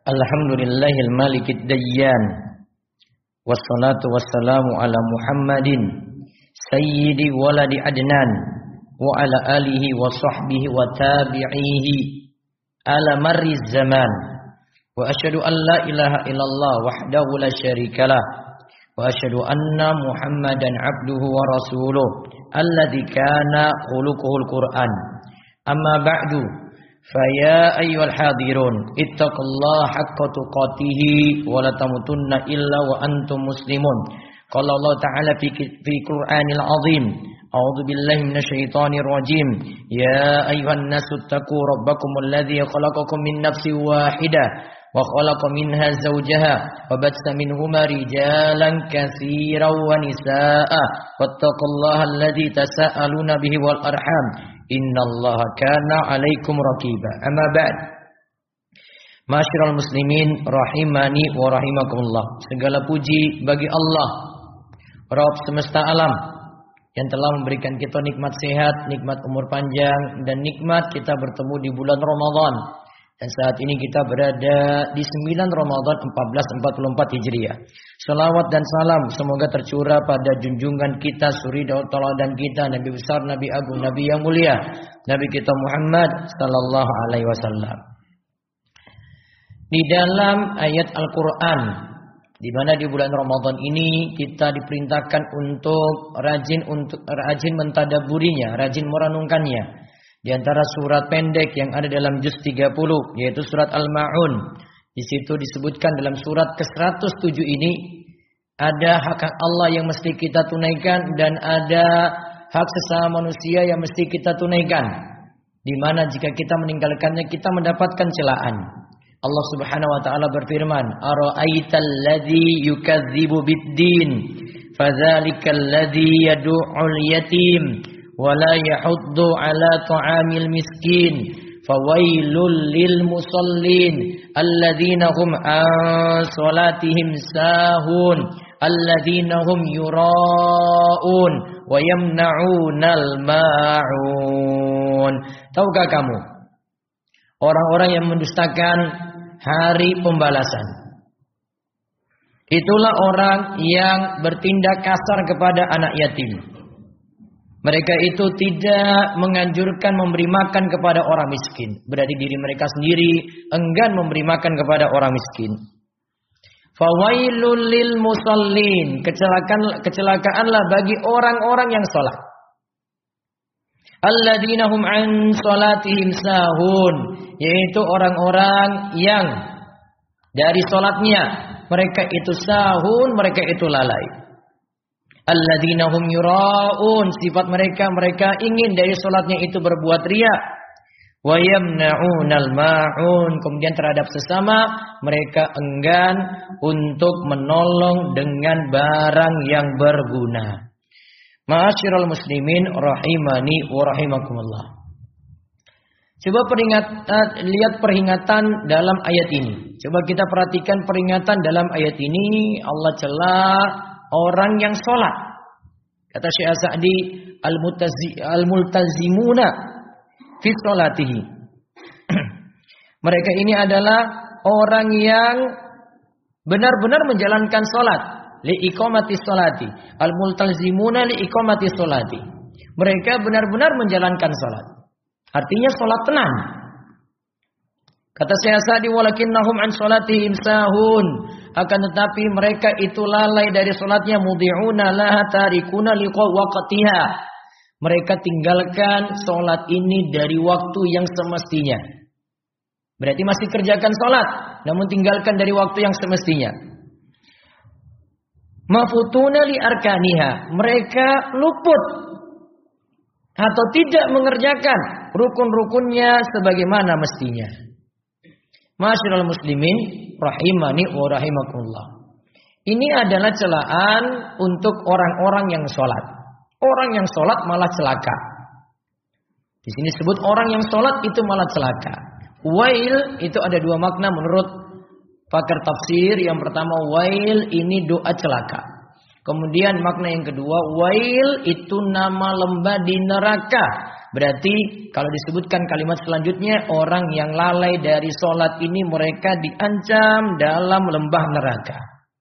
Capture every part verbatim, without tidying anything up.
Alhamdulillahil malikid dayyan. Wassalatu wassalamu ala Muhammadin sayyidi waladi adnan wa ala alihi wa sahbihi wa tabi'ihi ala marriz zaman. Wa asyhadu an la ilaha illallah wahdahu la syarikalah wa asyhadu anna Muhammadan abduhu wa rasuluh alladzi kana khuluquhul Qur'an. Amma ba'du, faya ayyuhal hadirun ittaqullaha haqqa tuqatih wa la tamutunna illa wa antum muslimun. Qala Allah ta'ala fi fi Qur'anil azim, a'udzu billahi minasyaitonir rajim. Ya ayyuhan nasu taqu rabbakumul ladzi khalaqakum min nafsin wahidah wa khalaqa minha zawjaha wa batsa minhuma rijalan katsiran wa nisaa'a wattaqullaha alladzi tasaaluna bihi wal arham innallaha kana 'alaikum raqiba. Amma ba'd. Ma'asyiral muslimin rahimani wa rahimakumullah. Segala puji bagi Allah, Rabb semesta alam, yang telah memberikan kita nikmat sehat, nikmat umur panjang, dan nikmat kita bertemu di bulan Ramadan. Dan saat ini kita berada di sembilan Ramadan seribu empat ratus empat puluh empat Hijriah. Salawat dan salam semoga tercurah pada junjungan kita, suri tauladan kita, Nabi besar, Nabi agung, Nabi yang mulia, Nabi kita Muhammad sallallahu alaihi wasallam. Di dalam ayat Al-Qur'an, di mana di bulan Ramadan ini kita diperintahkan untuk rajin untuk rajin mentadabburinya, rajin merenungkannya. Di antara surat pendek yang ada dalam juz tiga puluh, yaitu surat Al-Ma'un. Di situ disebutkan dalam surat ke seratus tujuh ini ada hak-hak Allah yang mesti kita tunaikan dan ada hak sesama manusia yang mesti kita tunaikan. Di mana jika kita meninggalkannya kita mendapatkan celaan. Allah Subhanahu wa taala berfirman, "Ara'aital ladzi yukadzibu bid-din, fadzalikal ladzi yad'ul yatim wa la yahuddu 'ala ta'amil miskin, fawailul lil musallin alladzina hum 'an salatihim sahun, alladzina hum yura'un wa yamna'unal ma'un." Tahukah kamu orang-orang yang mendustakan hari pembalasan? Itulah orang yang bertindak kasar kepada anak yatim. Mereka itu tidak menganjurkan memberi makan kepada orang miskin. Berarti diri mereka sendiri enggan memberi makan kepada orang miskin. Fawailul lil musallin, kecelakaan kecelakaanlah bagi orang-orang yang salat. Alladzina hum an salatihim sahun, yaitu orang-orang yang dari salatnya mereka itu sahun, mereka itu lalai. Alladzina hum yura'un, sifat mereka mereka ingin dari salatnya itu berbuat riya. Wa yamna'unal ma'un, kemudian terhadap sesama mereka enggan untuk menolong dengan barang yang berguna. Ma'asyiral muslimin rahimani wa rahimakumullah. Coba peringatan, lihat peringatan dalam ayat ini. Coba kita perhatikan peringatan dalam ayat ini. Allah celah orang yang sholat. Kata Syekh Sa'di, al-multazimuna fi sholatihi. Mereka ini adalah orang yang benar-benar menjalankan sholat. Li iqamati sholati. Al-multazimuna li iqamati sholati. Mereka benar-benar menjalankan sholat. Artinya sholat tenang. Kata Syekh Sa'di, walakinnahum an sholatihim sahun. Akan tetapi mereka itu lalai dari sholatnya. Mudhi'una laha tarikuna liqa waqtiha. Mereka tinggalkan sholat ini dari waktu yang semestinya. Berarti masih kerjakan sholat, namun tinggalkan dari waktu yang semestinya. Mafutuna li arkaniha. Mereka luput atau tidak mengerjakan rukun-rukunnya sebagaimana mestinya. Ma'asyiral muslimin rahimani wa rahimakumullah. Ini adalah celaan untuk orang-orang yang sholat. Orang yang sholat malah celaka. Di sini sebut orang yang sholat itu malah celaka. Wail itu ada dua makna menurut pakar tafsir. Yang pertama, wail ini doa celaka. Kemudian makna yang kedua, wail itu nama lembah di neraka Berarti kalau disebutkan kalimat selanjutnya, orang yang lalai dari sholat ini mereka diancam dalam lembah neraka.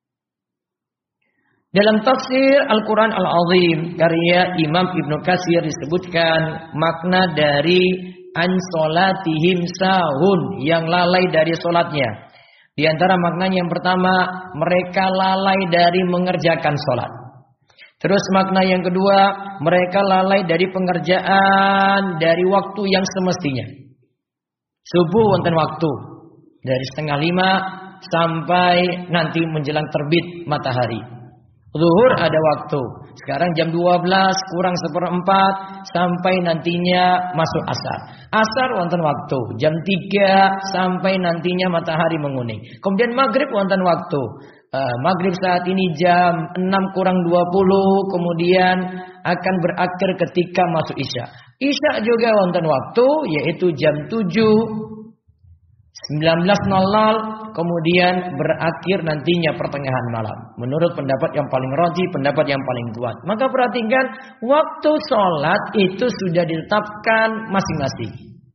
Dalam tafsir Al-Quran Al-Azim karya Imam Ibnu Katsir disebutkan makna dari an sholatihim sahun, yang lalai dari sholatnya. Di antara maknanya yang pertama, mereka lalai dari mengerjakan sholat. Terus makna yang kedua, mereka lalai dari pengerjaan dari waktu yang semestinya. Subuh wonten waktu dari setengah lima sampai nanti menjelang terbit matahari. Zuhur ada waktu. Sekarang jam dua belas kurang seperempat sampai nantinya masuk asar. Asar wonten waktu jam tiga sampai nantinya matahari menguning. Kemudian maghrib wonten waktu. Uh, maghrib saat ini jam enam kurang dua puluh, kemudian akan berakhir ketika masuk isya. Isya juga wonten waktu, yaitu jam tujuh sembilan belas nol nol, kemudian berakhir nantinya pertengahan malam. Menurut pendapat yang paling rajih, pendapat yang paling kuat. Maka perhatikan, waktu sholat itu sudah ditetapkan masing-masing.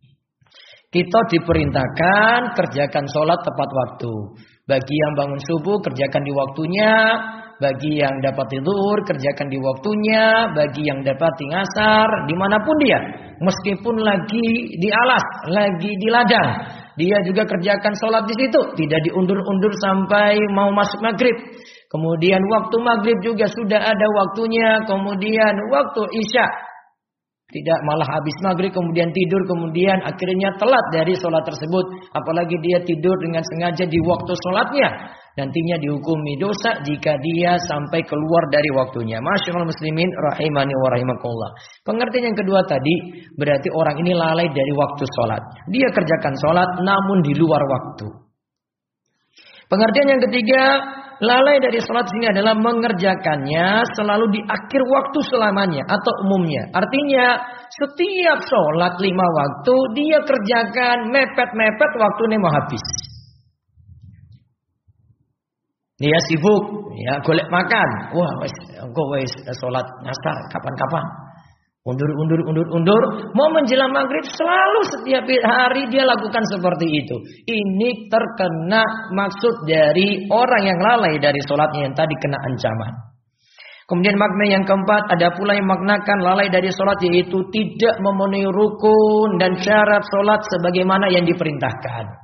Kita diperintahkan kerjakan sholat tepat waktu. Bagi yang bangun subuh, kerjakan di waktunya. Bagi yang dapat tidur, kerjakan di waktunya. Bagi yang dapat ngasar, dimanapun dia. Meskipun lagi di alas, lagi di ladang, dia juga kerjakan sholat di situ. Tidak diundur-undur sampai mau masuk maghrib. Kemudian waktu maghrib juga sudah ada waktunya. Kemudian waktu isya. Tidak malah habis maghrib kemudian tidur, kemudian akhirnya telat dari sholat tersebut. Apalagi dia tidur dengan sengaja di waktu sholatnya. Nantinya dihukumi dosa jika dia sampai keluar dari waktunya. Masyaallah muslimin rahimani wa rahimakumullah. Pengertian yang kedua tadi, berarti orang ini lalai dari waktu sholat. Dia kerjakan sholat namun di luar waktu. Pengertian yang ketiga, lalai dari sholat sini adalah mengerjakannya selalu di akhir waktu selamanya atau umumnya. Artinya setiap sholat lima waktu dia kerjakan mepet-mepet waktunya mau habis. Dia sibuk, ya golek makan. Wah, wes engko wes sholat ngasar kapan-kapan. Undur, undur, undur, undur. Mau menjelang maghrib selalu setiap hari dia lakukan seperti itu. Ini terkena maksud dari orang yang lalai dari sholatnya yang tadi kena ancaman. Kemudian makna yang keempat, ada pula yang maknakan lalai dari sholat, yaitu tidak memenuhi rukun dan syarat sholat sebagaimana yang diperintahkan.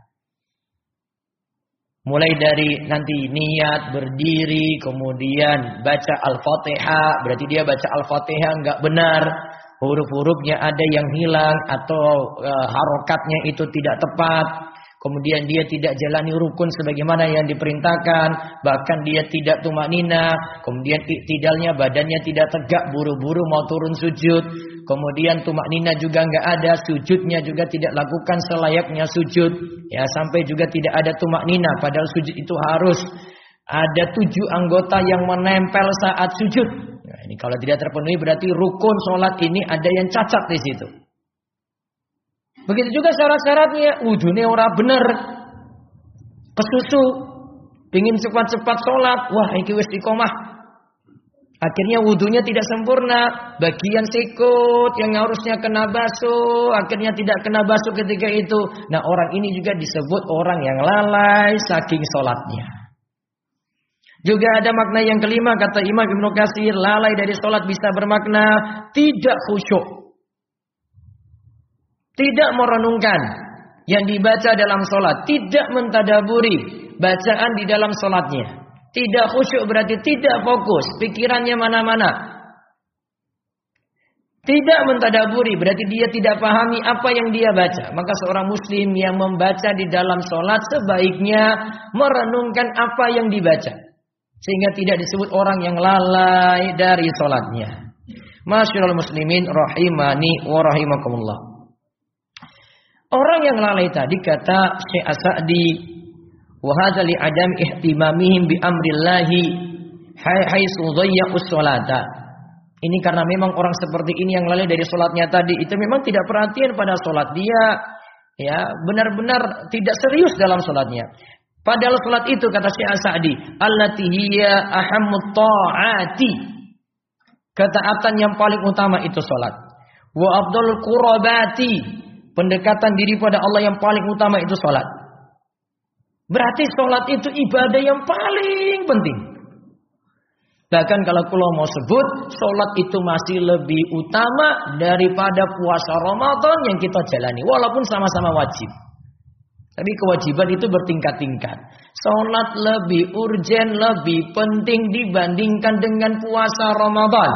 Mulai dari nanti niat, berdiri, kemudian baca Al-Fatihah. Berarti dia baca Al-Fatihah enggak benar. Huruf-hurufnya ada yang hilang atau e, harokatnya itu tidak tepat. Kemudian dia tidak jalani rukun sebagaimana yang diperintahkan. Bahkan dia tidak tumaknina. Kemudian iktidalnya badannya tidak tegak, buru-buru mau turun sujud. Kemudian tumaknina juga enggak ada, sujudnya juga tidak lakukan selayaknya sujud. Ya, sampai juga tidak ada tumaknina, padahal sujud itu harus ada tujuh anggota yang menempel saat sujud. Nah, ini kalau tidak terpenuhi berarti rukun sholat ini ada yang cacat di situ. Begitu juga syarat-syaratnya, wudhunya ora bener, kesusu, pingin cepat-cepat sholat, wah iki wis iqomah. Akhirnya wudhunya tidak sempurna, bagian sikut yang harusnya kena basuh, akhirnya tidak kena basuh ketika itu. Nah, orang ini juga disebut orang yang lalai saking sholatnya. Juga ada makna yang kelima, kata Imam Ibnu Katsir, lalai dari sholat bisa bermakna tidak khusyuk. Tidak merenungkan yang dibaca dalam sholat, tidak mentadaburi bacaan di dalam sholatnya. Tidak khusyuk berarti tidak fokus, pikirannya mana-mana. Tidak mentadaburi berarti dia tidak pahami apa yang dia baca. Maka seorang muslim yang membaca di dalam sholat sebaiknya merenungkan apa yang dibaca. Sehingga tidak disebut orang yang lalai dari sholatnya. Masyaallah muslimin rahimani wa rahimakumullah. Orang yang lalai tadi kata Syekh As-Sa'di, wa hadza li adam ihtimamihim bi amrillahi haitsu dhayya'us sholata. Ini karena memang orang seperti ini yang lalai dari sholatnya tadi itu memang tidak perhatian pada sholat dia, ya benar-benar tidak serius dalam sholatnya. Padahal sholat itu kata Syekh As-Sa'di, allati hiya ahammut ta'ati. Ketaatan yang paling utama itu sholat. Wa afdalul qurabati, pendekatan diri pada Allah yang paling utama itu salat. Berarti salat itu ibadah yang paling penting. Bahkan kalau kula mau sebut, salat itu masih lebih utama daripada puasa Ramadan yang kita jalani, walaupun sama-sama wajib. Tapi kewajiban itu bertingkat-tingkat. Salat lebih urgen, lebih penting dibandingkan dengan puasa Ramadan.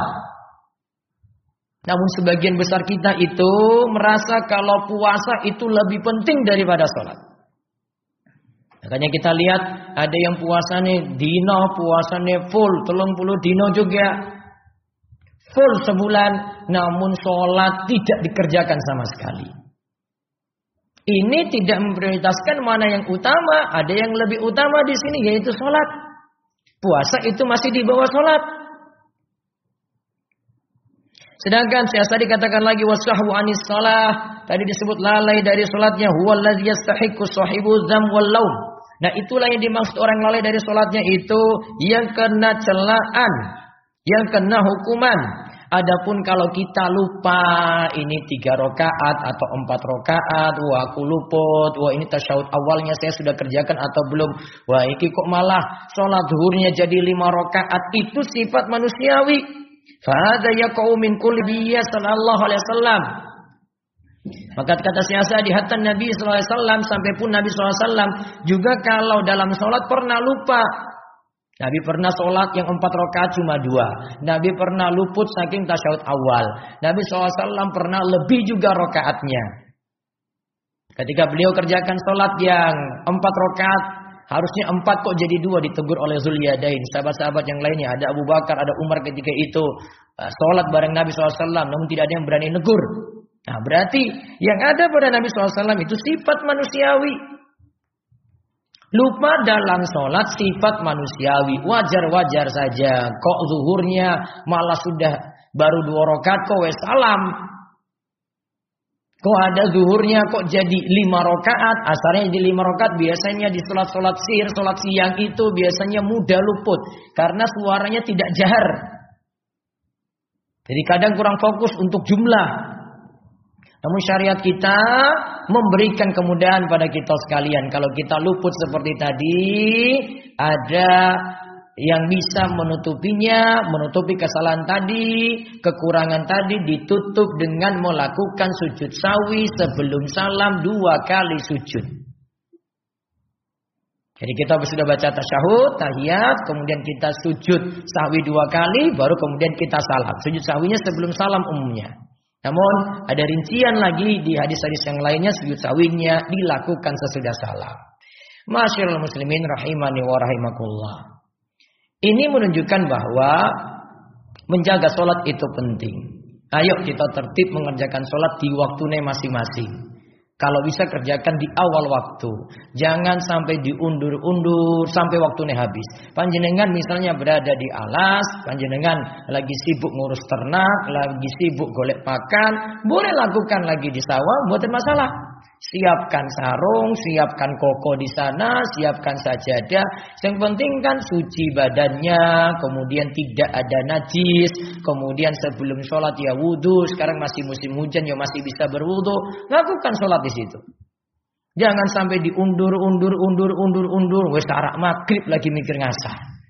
Namun sebagian besar kita itu merasa kalau puasa itu lebih penting daripada salat. Makanya kita lihat ada yang puasanya dino, puasanya full, telung puluh dino juga. Full sebulan, namun sholat tidak dikerjakan sama sekali. Ini tidak memprioritaskan mana yang utama, ada yang lebih utama di sini yaitu sholat. Puasa itu masih di bawah sholat. Sedangkan saya dikatakan lagi wasahwu anis shalah, tadi disebut lalai dari salatnya, huwallazi yastahiqqu sahibu dzam wal laum. Nah, itulah yang dimaksud orang lalai dari salatnya itu yang kena celaan, yang kena hukuman. Adapun kalau kita lupa ini tiga rakaat atau empat rakaat, wah aku luput, wah ini tasyahud awalnya saya sudah kerjakan atau belum, wah iki kok malah salat zuhurnya jadi lima rakaat, itu sifat manusiawi. Fahada yaqau min kulli sallallahu alaihi wasallam. Maka kata siasa di hatta Nabi sallallahu alaihi wasallam, sampai pun Nabi sallallahu alaihi wasallam juga kalau dalam sholat pernah lupa. Nabi pernah sholat yang empat rakaat cuma dua. Nabi pernah luput saking tasyahud awal. Nabi sallallahu alaihi wasallam pernah lebih juga rakaatnya. Ketika beliau kerjakan sholat yang empat rakaat, harusnya empat kok jadi dua, ditegur oleh Zulyadain. Sahabat-sahabat yang lainnya, ada Abu Bakar, ada Umar ketika itu sholat bareng Nabi sallallahu alaihi wasallam, namun tidak ada yang berani negur. Nah, berarti yang ada pada Nabi sallallahu alaihi wasallam itu sifat manusiawi. Lupa dalam sholat sifat manusiawi, wajar-wajar saja. Kok zuhurnya malah sudah baru dua rakaat kok wes salam. Kok ada zuhurnya kok jadi lima rakaat, asarnya jadi lima rakaat. Biasanya di sholat-sholat sihir, sholat siang itu biasanya mudah luput karena suaranya tidak jahar. Jadi kadang kurang fokus untuk jumlah. Namun syariat kita memberikan kemudahan pada kita sekalian. Kalau kita luput seperti tadi, ada yang bisa menutupinya, menutupi kesalahan tadi, kekurangan tadi ditutup dengan melakukan sujud sawi sebelum salam dua kali sujud. Jadi kita sudah baca tasyahud, tahiyat, kemudian kita sujud sahwi dua kali, baru kemudian kita salam. Sujud sahwinya sebelum salam umumnya. Namun ada rincian lagi di hadis-hadis yang lainnya, sujud sahwinya dilakukan sesudah salam. Masyaallah muslimin rahimani wa rahimakumullah. Ini menunjukkan bahwa menjaga sholat itu penting. Ayo kita tertib mengerjakan sholat di waktunya masing-masing. Kalau bisa kerjakan di awal waktu. Jangan sampai diundur-undur sampai waktunya habis. Panjenengan misalnya berada di alas, panjenengan lagi sibuk ngurus ternak, lagi sibuk golek pakan, boleh lakukan lagi di sawah, bukan masalah. Siapkan sarung, siapkan koko di sana, siapkan sajadah. Yang penting kan suci badannya, kemudian tidak ada najis, kemudian sebelum sholat ya wudhu. Sekarang masih musim hujan ya masih bisa berwudhu. Lakukan sholat di situ. Jangan sampai diundur, undur, undur, undur, undur. Wes tarak maghrib lagi mikir ngasar.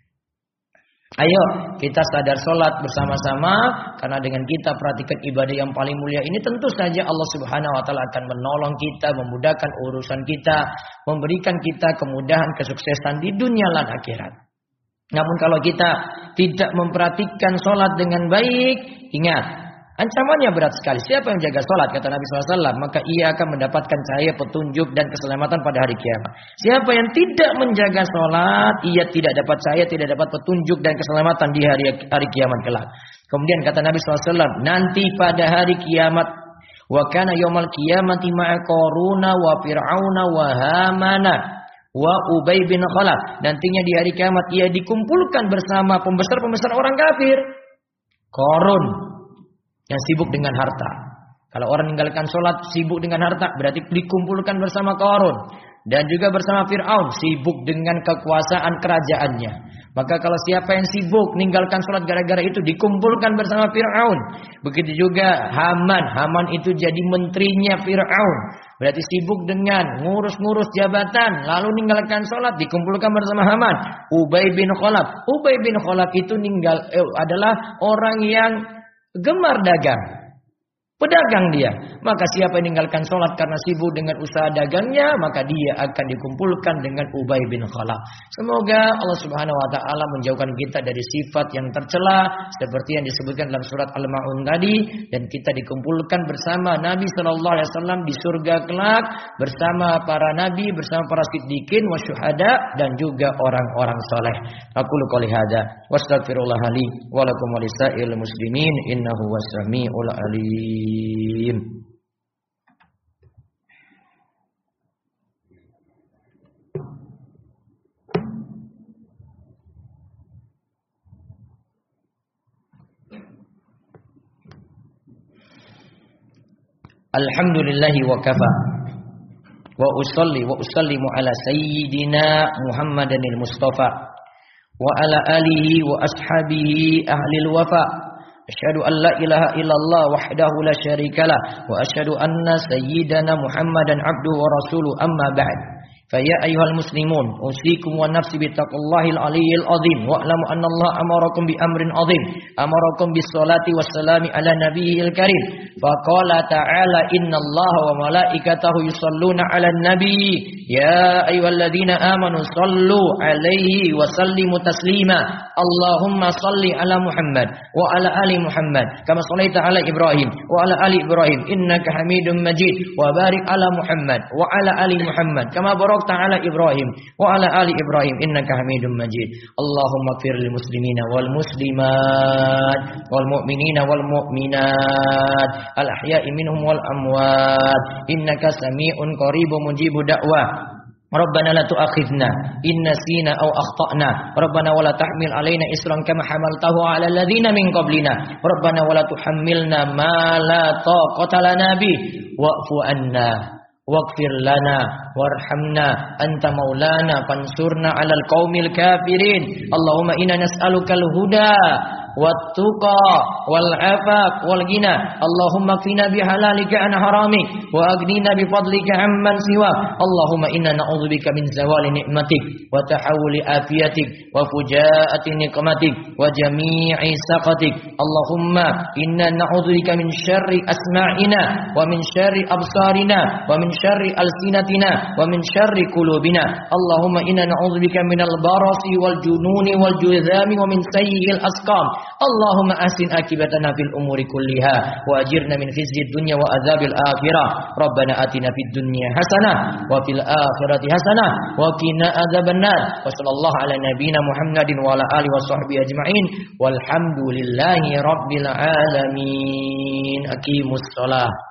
Ayo kita sadar sholat bersama-sama, karena dengan kita perhatikan ibadah yang paling mulia ini tentu saja Allah Subhanahu Wa Taala akan menolong kita, memudahkan urusan kita, memberikan kita kemudahan kesuksesan di dunia dan akhirat. Namun kalau kita tidak memperhatikan sholat dengan baik, ingat ancamannya berat sekali. Siapa yang jaga sholat, kata Nabi shallallahu alaihi wasallam, maka ia akan mendapatkan cahaya petunjuk dan keselamatan pada hari kiamat. Siapa yang tidak menjaga sholat, ia tidak dapat cahaya, tidak dapat petunjuk dan keselamatan di hari hari kiamat kelak. Kemudian kata Nabi shallallahu alaihi wasallam, nanti pada hari kiamat, wa kana yaumal qiyamati ma'a qaruna wa fir'auna wa hamana wa Ubay bin Khalaf. Nantinya di hari kiamat ia dikumpulkan bersama pembesar-pembesar orang kafir. Qarun yang sibuk dengan harta. Kalau orang meninggalkan sholat sibuk dengan harta, berarti dikumpulkan bersama Qarun. Dan juga bersama Fir'aun, sibuk dengan kekuasaan kerajaannya. Maka kalau siapa yang sibuk meninggalkan sholat gara-gara itu dikumpulkan bersama Fir'aun. Begitu juga Haman. Haman itu jadi menterinya Fir'aun. Berarti sibuk dengan ngurus-ngurus jabatan. Lalu meninggalkan sholat dikumpulkan bersama Haman. Ubay bin Khalaf. Ubay bin Khalaf itu ninggal, eh, adalah orang yang gemar dagang. Pedagang dia. Maka siapa yang meninggalkan sholat karena sibuk dengan usaha dagangnya, maka dia akan dikumpulkan dengan Ubay bin Khalaf. Semoga Allah Subhanahu wa taala menjauhkan kita dari sifat yang tercela seperti yang disebutkan dalam surat Al-Maun tadi, dan kita dikumpulkan bersama Nabi sallallahu alaihi wasallam di surga kelak bersama para nabi, bersama para siddiqin wasyuhada dan juga orang-orang saleh. Aqulu qouli hadza wastaghfirullah li wa lakum wa lisa'il muslimin innahu was-sami'ul alim. Alhamdulillahi wa kafa wa usalli wa usallimu ala sayyidina Muhammadanil Mustafa wa ala alihi wa ashabihi ahlil wafa. Asyhadu an la ilaha illallah wahdahu la syarikalah wa asyhadu anna sayyidana Muhammadan abduhu wa rasuluhu amma ba'd. Faya ayyuhal muslimun usikum wa nafsi bittaqwallahil aliyyil azim wa alamu anna Allah amarakum bi amrin azim amarakum bis salati wassalami ala nabiyil karim faqala ta'ala innallaha wa malaikatahu yusalluna 'alan nabi ya ayyuhalladzina amanu sallu 'alaihi wa sallimu taslima Allahumma salli ala Muhammad wa ala ali Muhammad kama shallaita ala Ibrahim wa ala ali Ibrahim innaka Hamidum Majid wa barik ala Muhammad wa ala ali Muhammad kama barakta ala Ibrahim wa ala ali Ibrahim innaka Hamidum Majid. Allahumma ighfir lil muslimina wal muslimat wal mu'minina wal mu'minat al ahya'i minhum wal amwat innaka sami'un qaribun mujibud da'wah. Rabbana la tu'akhidna in nasina aw akhtana. Rabbana wa la tahmil alaina isran kama hamaltahu ala alladhina min qablina. Rabbana wa la tuhammilna ma la taqata lana bi wa'fu anna waghfir lana warhamna anta maulana fansurna 'alal qaumil kafirin. Allahumma inna nas'alukal huda wat-tuqa wal-'afaf wal-ghina. Allahumma qina bihalalika an haramik wa aghnina bifadlika amman siwak. Allahumma inna na'udzubika min zawali ni'matik wa tahawuli afiyatik wa fujaati niqmatik wa jami'i saqatik. Allahumma inna na'udzubika min syarri asma'ina wa min syarri absarina wa min syarri alsinatina wa min syarri qulubina. Allahumma inna na'udzubika minal barasi wal jununi wal juzami wa min sayyi'il asqam. Allahumma ahsin akibatana fil umuri kulliha wa ajirna min khizyid dunya wa adzabil akhirah. Rabbana atina fid dunya hasanah wa fil akhirati hasanah wa qina adzabannar. Wa sallallahu ala nabiyyina Muhammadin wa ala alihi wa sahbihi ajma'in walhamdulillahi rabbil alamin. Aqimus shalah.